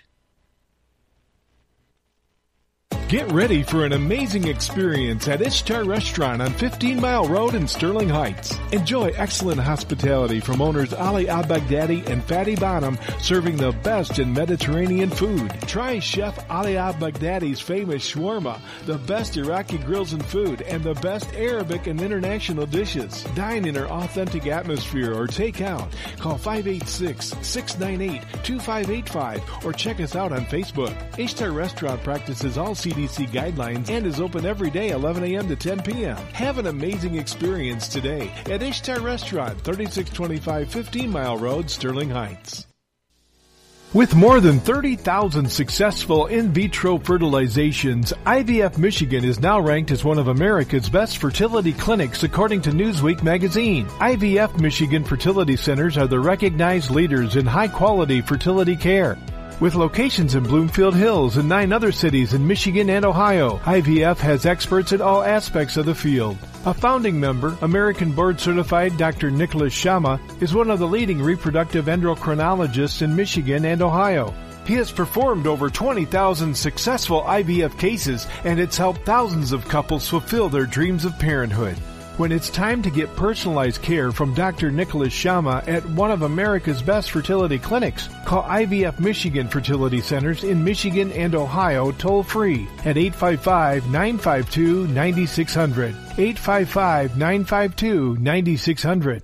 Get ready for an amazing experience at Ishtar Restaurant on fifteen mile Road in Sterling Heights. Enjoy excellent hospitality from owners Ali Al-Baghdadi and Fatty Bonham, serving the best in Mediterranean food. Try Chef Ali Al-Baghdadi's famous shawarma, the best Iraqi grills and food, and the best Arabic and international dishes. Dine in our authentic atmosphere or take out. Call five eight six, six nine eight, two five eight five or check us out on Facebook. Ishtar Restaurant practices all C D C guidelines and is open every day eleven a.m. to ten p.m. Have an amazing experience today at Ishtar Restaurant, thirty-six twenty-five fifteen mile Road, Sterling Heights. With more than thirty thousand successful in vitro fertilizations, I V F Michigan is now ranked as one of America's best fertility clinics according to Newsweek magazine. I V F Michigan fertility centers are the recognized leaders in high-quality fertility care. With locations in Bloomfield Hills and nine other cities in Michigan and Ohio, I V F has experts in all aspects of the field. A founding member, American board-certified Doctor Nicholas Shama, is one of the leading reproductive endocrinologists in Michigan and Ohio. He has performed over twenty thousand successful I V F cases, and it's helped thousands of couples fulfill their dreams of parenthood. When it's time to get personalized care from Doctor Nicholas Shama at one of America's best fertility clinics, call I V F Michigan Fertility Centers in Michigan and Ohio toll-free at eight five five, nine five two, nine six zero zero, eight five five, nine five two, nine six zero zero.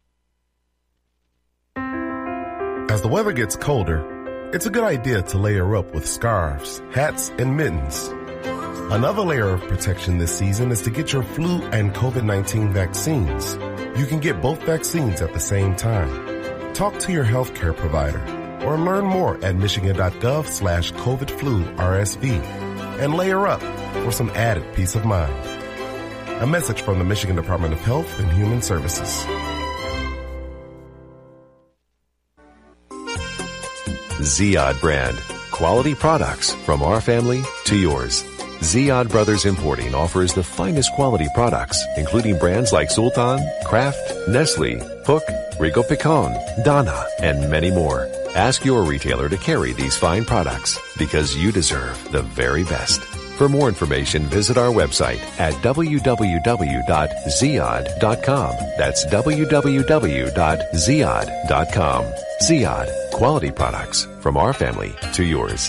As the weather gets colder, it's a good idea to layer up with scarves, hats, and mittens. Another layer of protection this season is to get your flu and COVID nineteen vaccines. You can get both vaccines at the same time. Talk to your healthcare provider or learn more at michigan.gov slash COVID flu RSV and layer up for some added peace of mind. A message from the Michigan Department of Health and Human Services. Ziyad brand. Quality products from our family to yours. Ziyad Brothers Importing offers the finest quality products, including brands like Sultan, Kraft, Nestle, Hook, Rico Picon, Donna, and many more. Ask your retailer to carry these fine products because you deserve the very best. For more information, visit our website at w w w dot ziyad dot com. That's w w w dot ziyad dot com. Ziyad, quality products from our family to yours.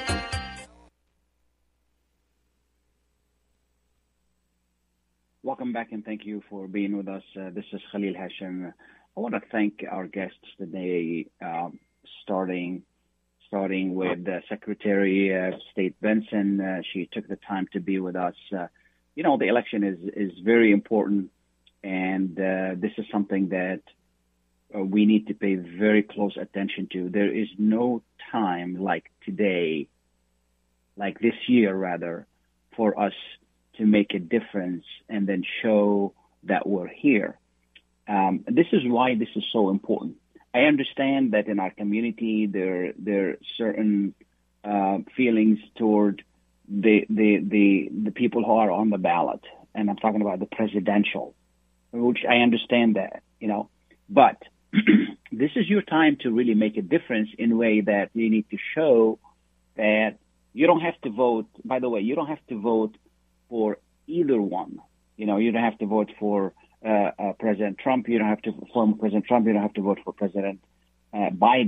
Welcome back and thank you for being with us. Uh, this is Khalil Hashim. I want to thank our guests today, uh, starting starting with uh, Secretary of State Benson. Uh, she took the time to be with us. Uh, you know, the election is, is very important, and uh, this is something that uh, we need to pay very close attention to. There is no time like today, like this year rather, for us to make a difference and then show that we're here. Um, this is why this is so important. I understand that in our community there there are certain uh, feelings toward the, the the the people who are on the ballot, and I'm talking about the presidential, which I understand that, you know. But this is your time to really make a difference in a way that you need to show that you don't have to vote. By the way, you don't have to vote for either one. You know, you don't have to vote for uh, uh, President Trump. You don't have to for President Trump. You don't have to vote for President uh, Biden.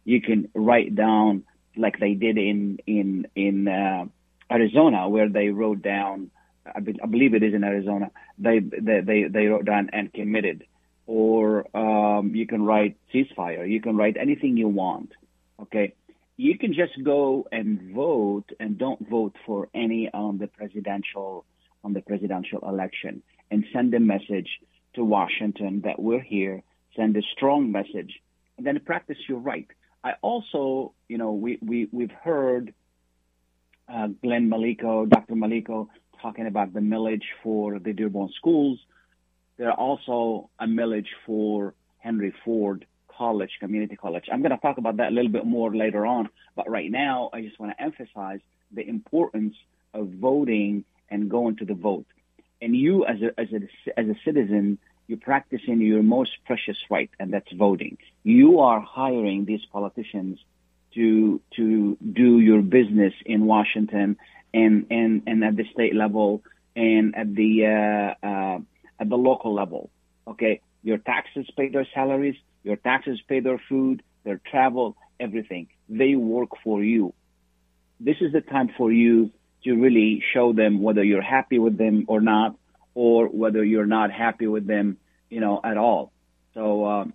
You can write down like they did in in in uh, Arizona, where they wrote down. I, be, I believe it is in Arizona. They they they, they wrote down and committed. Or um, you can write ceasefire. You can write anything you want. Okay, you can just go and vote, and don't vote for any on the presidential on the presidential election, and send a message to Washington that we're here. Send a strong message, and then practice your right. I also, you know, we we we've heard uh, Glenn Maliko, Doctor Maliko, talking about the millage for the Dearborn schools. There are also a millage for Henry Ford College, Community College. I'm going to talk about that a little bit more later on. But right now, I just want to emphasize the importance of voting and going to the vote. And you, as a as a as a citizen, you're practicing your most precious right, and that's voting. You are hiring these politicians to to do your business in Washington and and, and at the state level and at the uh, uh, at the local level. Okay, your taxes pay their salaries, your taxes pay their food, their travel, everything. They work for you. This is the time for you to really show them whether you're happy with them or not, or whether you're not happy with them, you know, at all. So, um,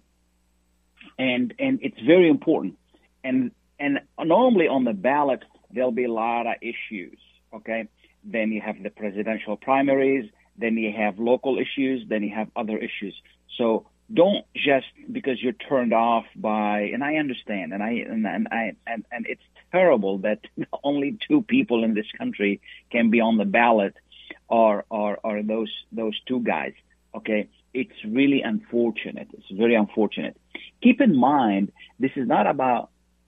and and it's very important. And and normally on the ballot there'll be a lot of issues. Okay, then you have the presidential primaries. Then you have local issues, then you have other issues. So don't just because you're turned off by, and I understand, and I and, and I and, and it's terrible that only two people in this country can be on the ballot, or or or those those two guys. Okay, it's really unfortunate. It's very unfortunate. Keep in mind, this is not about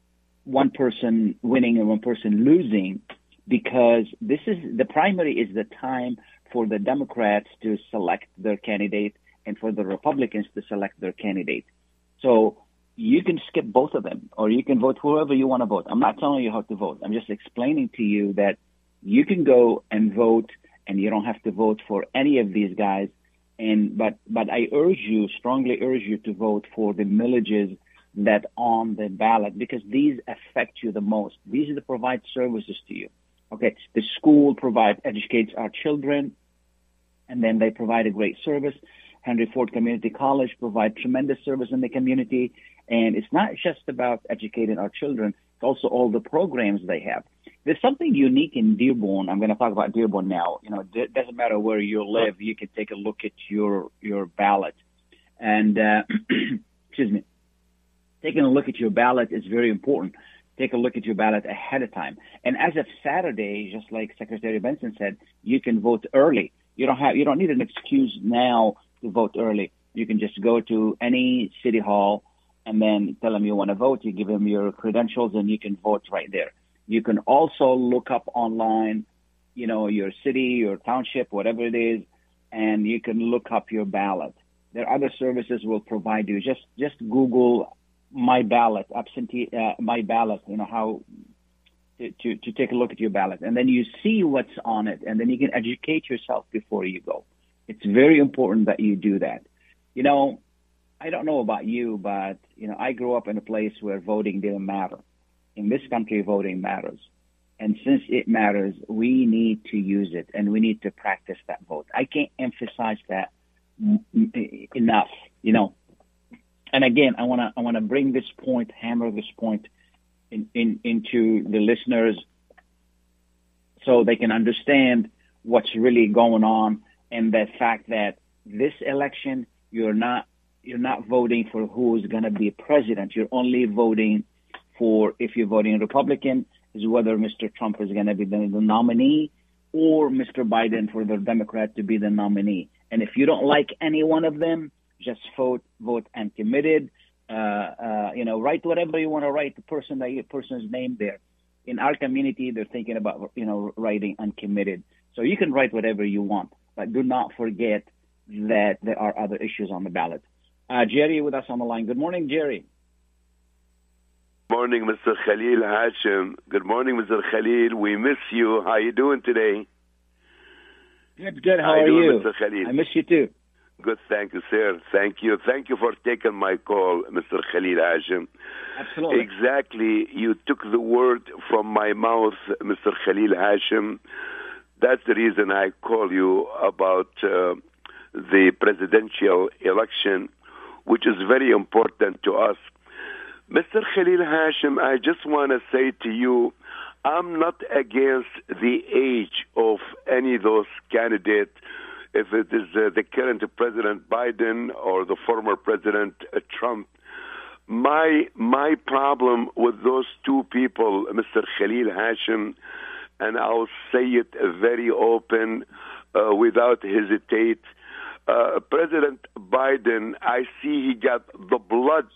one person winning and one person losing, because this is the primary is the time for the Democrats to select their candidate and for the Republicans to select their candidate. So you can skip both of them, or you can vote whoever you want to vote. I'm not telling you how to vote. I'm just explaining to you that you can go and vote, and you don't have to vote for any of these guys. And but but I urge you, strongly urge you to vote for the millages that on the ballot, because these affect you the most. These are the provide services to you. Okay, the school provide educates our children, and then they provide a great service. Henry Ford Community College provide tremendous service in the community, and it's not just about educating our children; it's also all the programs they have. There's something unique in Dearborn. I'm going to talk about Dearborn now. You know, it doesn't matter where you live; you can take a look at your your ballot, and uh, excuse me, taking a look at your ballot is very important. Take a look at your ballot ahead of time. And as of Saturday, just like Secretary Benson said, you can vote early. You don't have, you don't need an excuse now to vote early. You can just go to any city hall and then tell them you want to vote. You give them your credentials and you can vote right there. You can also look up online, you know, your city, your township, whatever it is, and you can look up your ballot. There are other services will provide you. Just, just Google my ballot, absentee, uh, my ballot, you know, how to, to, to take a look at your ballot. And then you see what's on it, and then you can educate yourself before you go. It's very important that you do that. You know, I don't know about you, but, you know, I grew up in a place where voting didn't matter. In this country, voting matters. And since it matters, we need to use it, and we need to practice that vote. I can't emphasize that enough, you know. And again, I want to I want to bring this point, hammer this point in, in, into the listeners so they can understand what's really going on, and the fact that this election, you're not you're not voting for who's going to be president. You're only voting for, if you're voting Republican, is whether Mister Trump is going to be the, the nominee, or Mister Biden for the Democrat to be the nominee. And if you don't like any one of them, just vote, vote uncommitted. Uh, uh, you know, write whatever you want to write. The person, the person's name there. In our community, they're thinking about, you know, writing uncommitted. So you can write whatever you want, but do not forget that there are other issues on the ballot. Uh, Jerry with us on the line. Good morning, Jerry. Good morning, Mister Khalil Hashim. Good morning, Mister Khalil. We miss you. How are you doing today? Good, good. How, How are you? Doing, you? Mister Khalil? I miss you too. Good, thank you, sir. Thank you. Thank you for taking my call, Mister Khalil Hashim. Absolutely. Exactly. You took the word from my mouth, Mister Khalil Hashim. That's the reason I call you about uh, the presidential election, which is very important to us. Mister Khalil Hashim, I just want to say to you, I'm not against the age of any of those candidates, if it is uh, the current President Biden or the former President uh, Trump. My my problem with those two people, Mister Khalil Hashim, and I'll say it very open, uh, without hesitate, uh, President Biden, I see he got the blood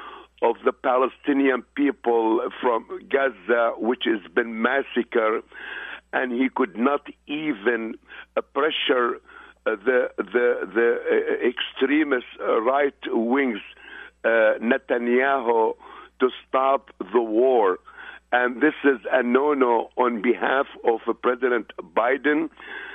of the Palestinian people from Gaza, which has been massacred, and he could not even uh, pressure uh, the the the uh, extremist uh, right wings uh, Netanyahu to stop the war. And this is a no-no on behalf of uh, President Biden.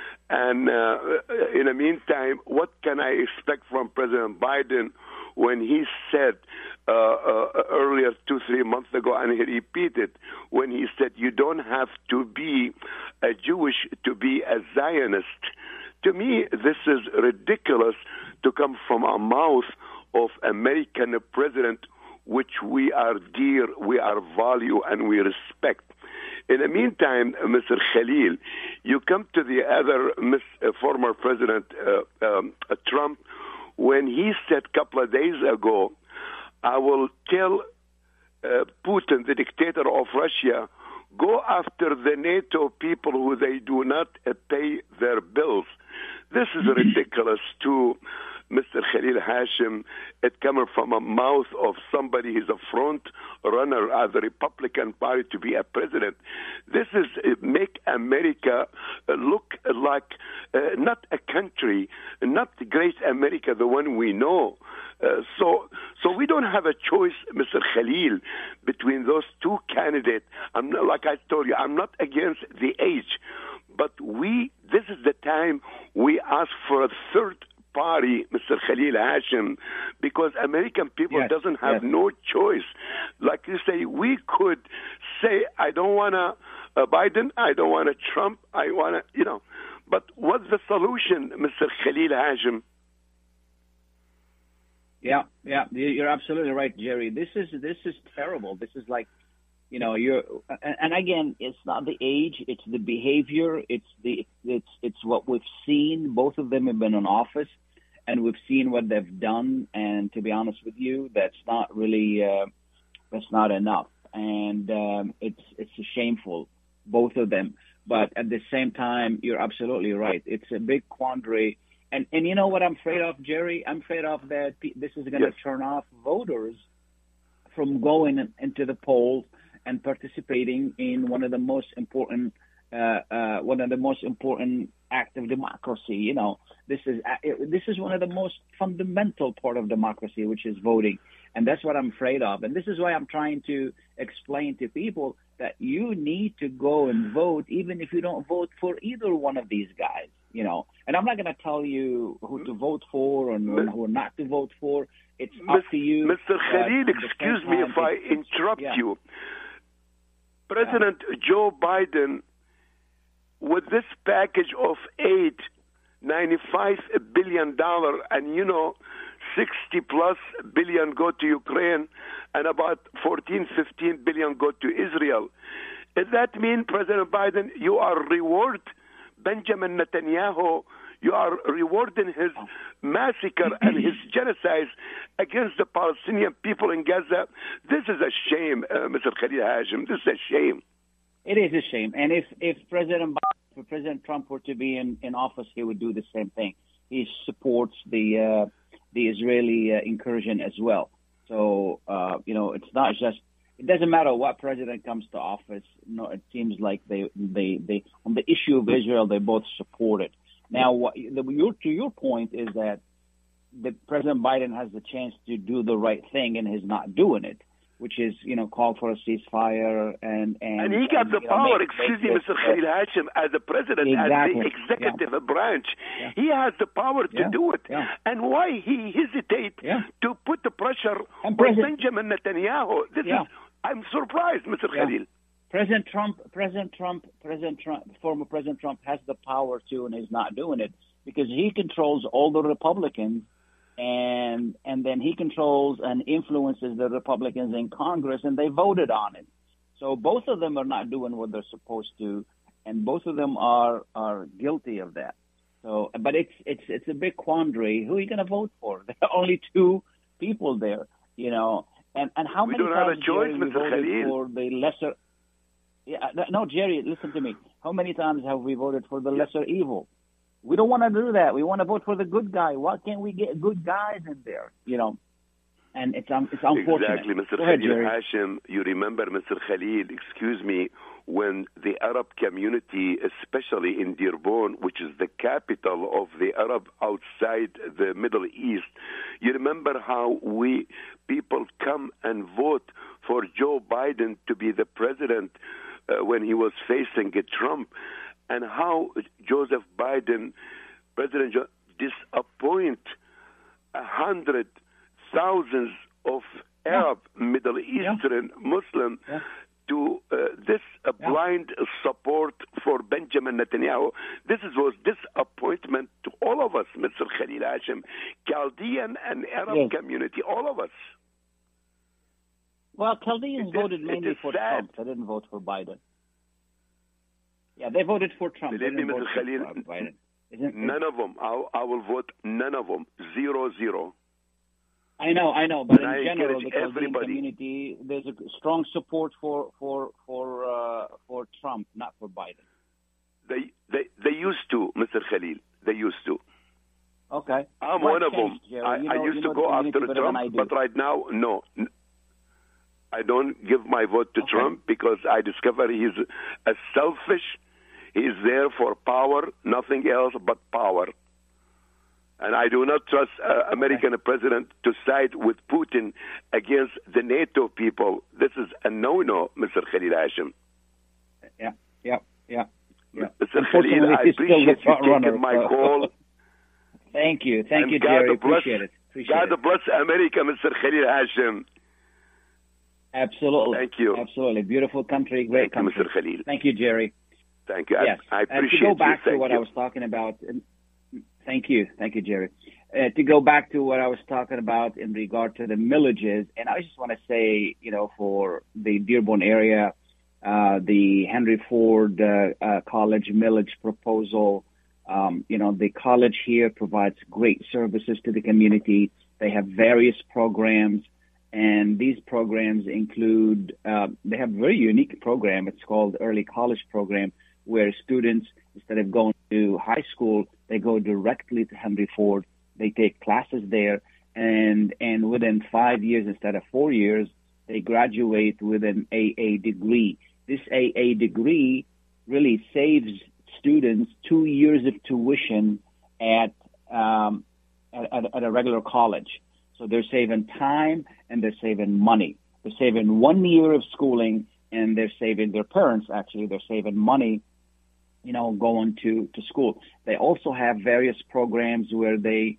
And uh, in the meantime, what can I expect from President Biden when he said uh, uh, earlier, two, three months ago, and he repeated, when he said, you don't have to be a Jewish to be a Zionist. To me, this is ridiculous to come from a mouth of American president, which we are dear, we are value, and we respect. In the meantime, Mister Khalil, you come to the other Miss, uh, former President uh, um, uh, Trump, when he said a couple of days ago, I will tell uh, Putin, the dictator of Russia, go after the NATO people who they do not uh, pay their bills. This is ridiculous to Mister Khalil Hashim. It coming from a mouth of somebody who's a front runner of the Republican Party to be a president. This is uh, make America uh, look like uh, not a country, not the great America, the one we know. Uh, so, so we don't have a choice, Mister Khalil, between those two candidates. I'm not, like I told you, I'm not against the age, but we. This is the time we ask for a third party, Mister Khalil Hashim, because American people yes, doesn't have yes. no choice. Like you say, we could say, I don't want a, a Biden, I don't want a Trump, I want to, you know. But what's the solution, Mister Khalil Hashim? Yeah, yeah, you're absolutely right, Jerry. This is this is terrible. This is like, you know, you're, and, and again, it's not the age, it's the behavior, it's the it's it's what we've seen. Both of them have been in office, and we've seen what they've done. And to be honest with you, that's not really uh, that's not enough, and um, it's it's shameful, both of them. But at the same time, you're absolutely right. It's a big quandary. And and you know what I'm afraid of, Jerry? I'm afraid of that this is going to yes. turn off voters from going into the polls and participating in one of the most important, uh, uh, one of the most important act of democracy. You know, this is this is one of the most fundamental part of democracy, which is voting, and that's what I'm afraid of. And this is why I'm trying to explain to people that you need to go and vote, even if you don't vote for either one of these guys. You know, and I'm not going to tell you who to vote for and who not to vote for. It's up to you. Mister Khalil, excuse me if I interrupt yeah. you. President yeah. Joe Biden, with this package of aid, ninety-five billion dollars, and you know, sixty plus billion go to Ukraine, and about fourteen, fifteen billion go to Israel. Does that mean, President Biden, you are reward Benjamin Netanyahu, you are rewarding his massacre and his genocide against the Palestinian people in Gaza? This is a shame, uh, Mister Khalil Hashim. This is a shame. It is a shame. And if, if President Biden, if President Trump were to be in, in office, he would do the same thing. He supports the uh, the Israeli uh, incursion as well. So, uh, you know, it's not just, it doesn't matter what president comes to office. No, it seems like they, they, they on the issue of Israel, they both support it. Now, what, the, your, to your point is that the President Biden has the chance to do the right thing and is not doing it, which is, you know, call for a ceasefire and and, and he got and, the you know, power. make, excuse make me, this, Mister Khalil Hashim, as the president, exactly. as the executive yeah. branch, yeah. he has the power to yeah. do it. Yeah. And why he hesitate yeah. to put the pressure and on President, Benjamin Netanyahu? This yeah. is. I'm surprised, Mister Yeah. Khalil. President Trump, President Trump, President Trump, former President Trump has the power to, and is not doing it because he controls all the Republicans, and and then he controls and influences the Republicans in Congress, and they voted on it. So both of them are not doing what they're supposed to, and both of them are are guilty of that. So, but it's it's it's a big quandary. Who are you going to vote for? There are only two people there, you know. And and how we many don't times have a choice, Jerry, we Mister voted Khalil. for the lesser? Yeah, no, Jerry, listen to me. How many times have we voted for the lesser evil? We don't want to do that. We want to vote for the good guy. Why can't we get good guys in there? You know, and it's um, it's unfortunate. Exactly, Mister Go ahead, Khalil Jerry. Hashim. You remember, Mister Khalil? Excuse me. When the Arab community, especially in Dearborn, which is the capital of the Arab outside the Middle East, you remember how we people come and vote for Joe Biden to be the president uh, when he was facing uh, Trump, and how Joseph Biden, President Joe, disappoint a hundred thousands of Arab, yeah. Middle Eastern, yeah. Muslim. Yeah. To uh, this uh, yeah. blind support for Benjamin Netanyahu. This is, was disappointment to all of us, Mister Khalil Hashim, Chaldean and Arab yes. community, all of us. Well, Chaldeans it voted is, mainly for sad. Trump. They didn't vote for Biden. Yeah, they voted for Trump. Believe me, Mister Khalil, Biden. Isn't, none of them. I, I will vote none of them. Zero, zero. I know, I know, but and in I general, the Chaldean everybody. community, there's a strong support for for for uh, for Trump, not for Biden. They they they used to, Mister Khalil. They used to. Okay. I'm what one of changed, them. Jerry? I, you know, I used you to know go after Trump, but right now, no. I don't give my vote to okay. Trump because I discover he's a selfish. He's there for power, nothing else but power. And I do not trust uh, American okay. president to side with Putin against the NATO people. This is a no-no, Mister Khalil Hashim. Yeah, yeah, yeah. yeah. Mister Khalil, I appreciate you taking runner, my so. call. Thank you. Thank and you, God Jerry. Bless, appreciate it. Appreciate God it. bless America, Mister Khalil Hashim. Absolutely. Thank you. Absolutely. Beautiful country, great Thank country. you, Mister Khalil. Thank you, Jerry. Thank you. Yes. I, I appreciate uh, to go back you. to what you. I was talking about. Thank you. Thank you, Jerry. Uh, to go back to what I was talking about in regard to the millages, and I just want to say, you know, for the Dearborn area, uh, the Henry Ford uh, uh, College millage proposal, um, you know, the college here provides great services to the community. They have various programs, and these programs include, uh, they have a very unique program. It's called Early College Program, where students, instead of going to high school, they go directly to Henry Ford. They take classes there, and and within five years instead of four years, they graduate with an A A degree. This A A degree really saves students two years of tuition at um, at, at a regular college. So they're saving time and they're saving money. They're saving one year of schooling, and they're saving their parents actually. They're saving money, you know, going to, to school. They also have various programs where they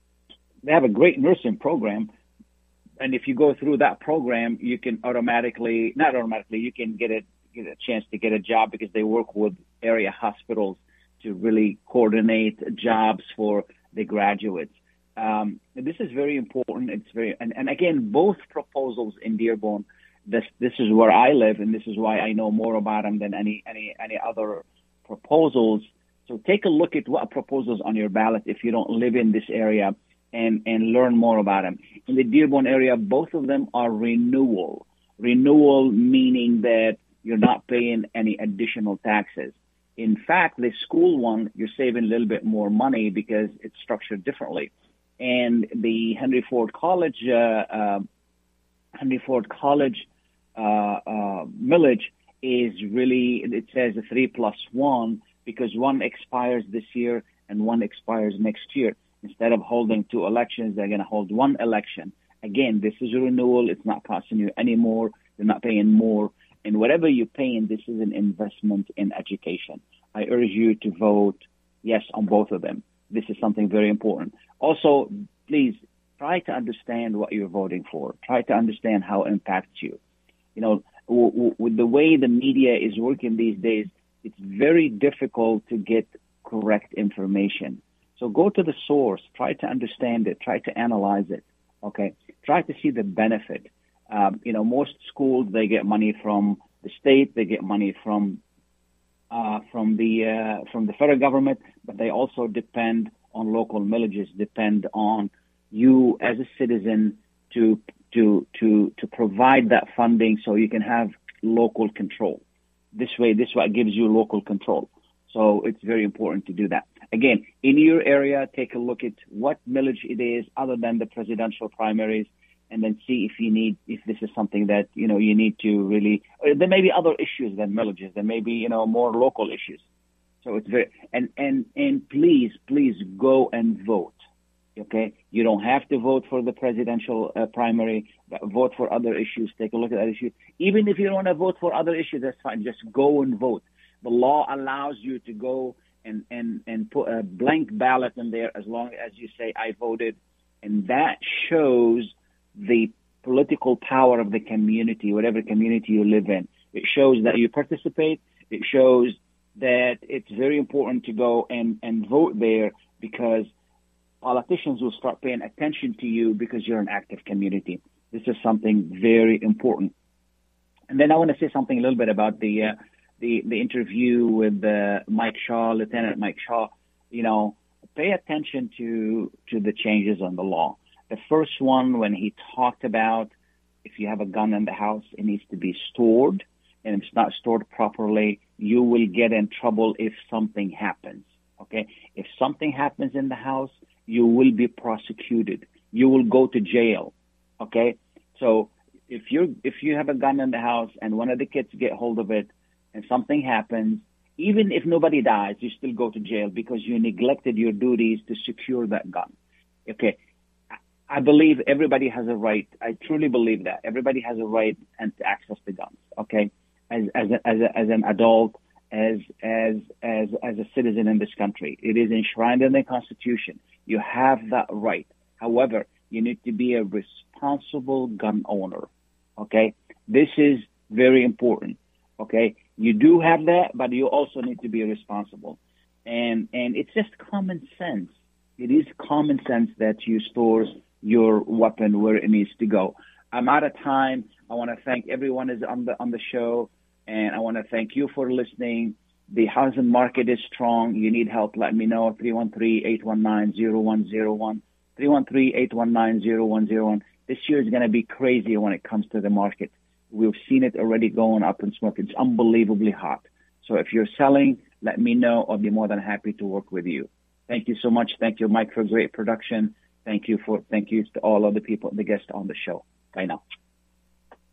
they have a great nursing program. And if you go through that program, you can automatically, not automatically, you can get a, get a chance to get a job because they work with area hospitals to really coordinate jobs for the graduates. Um, this is very important. It's very, and, and again, both proposals in Dearborn, this, this is where I live, and this is why I know more about them than any, any, any other proposals. So take a look at what proposals on your ballot if you don't live in this area, and, and learn more about them. In the Dearborn area, both of them are renewal. Renewal meaning that you're not paying any additional taxes. In fact, the school one, you're saving a little bit more money because it's structured differently. And the Henry Ford College, uh, uh, Henry Ford College uh, uh, millage is really, it says a three plus one because one expires this year and one expires next year. Instead of holding two elections, they're going to hold one election. Again, this is a renewal. It's not costing you any more. You're not paying more. And whatever you're paying, this is an investment in education. I urge you to vote yes on both of them. This is something very important. Also, please try to understand what you're voting for. Try to understand how it impacts you. You know, w- w- with the way the media is working these days, it's very difficult to get correct information. So go to the source. Try to understand it. Try to analyze it. Okay? Try to see the benefit. Um, you know, most schools, they get money from the state. They get money from uh, from the uh, from the federal government, but they also depend on local millages, depend on you as a citizen to to to to provide that funding so you can have local control. This way, this way it gives you local control. So it's very important to do that. Again, in your area, take a look at what millage it is other than the presidential primaries, and then see if you need, if this is something that, you know, you need to really, there may be other issues than millages. There may be, you know, more local issues. So it's very, and, and, and please, please go and vote. Okay. You don't have to vote for the presidential uh, primary, but vote for other issues. Take a look at that issue. Even if you don't want to vote for other issues, that's fine. Just go and vote. The law allows you to go and, and, and put a blank ballot in there as long as you say, I voted. And that shows the political power of the community, whatever community you live in. It shows that you participate. It shows that it's very important to go and, and vote there, because politicians will start paying attention to you because you're an active community. This is something very important. And then I want to say something a little bit about the uh, the, the interview with uh, Mike Shaw, Lieutenant Mike Shaw. You know, pay attention to to the changes on the law. The first one, when he talked about if you have a gun in the house, it needs to be stored, and if it's not stored properly, you will get in trouble if something happens. Okay? If something happens in the house, you will be prosecuted. You will go to jail. Okay? So if you if you have a gun in the house and one of the kids get hold of it and something happens, even if nobody dies, you still go to jail because you neglected your duties to secure that gun. Okay? I believe everybody has a right. I truly believe that everybody has a right and to access the guns. Okay, as as a, as, a, as an adult, as as as as a citizen in this country, it is enshrined in the Constitution. You have that right. However, you need to be a responsible gun owner. Okay, this is very important. Okay, you do have that, but you also need to be responsible, and and it's just common sense. It is common sense that you store your weapon where it needs to go. I'm out of time. I want to thank everyone who's on the on the show, and I want to thank you for listening. The housing market is strong. You need help, let me know. three one three, eight one nine, zero one zero one. three one three, eight one nine, zero one zero one. This year is going to be crazy when it comes to the market. We've seen it already going up in smoke. It's unbelievably hot. So if you're selling, let me know. I'll be more than happy to work with you. Thank you so much. Thank you, Mike, for great production. Thank you for, thank you to all of the people, the guests on the show. Bye now.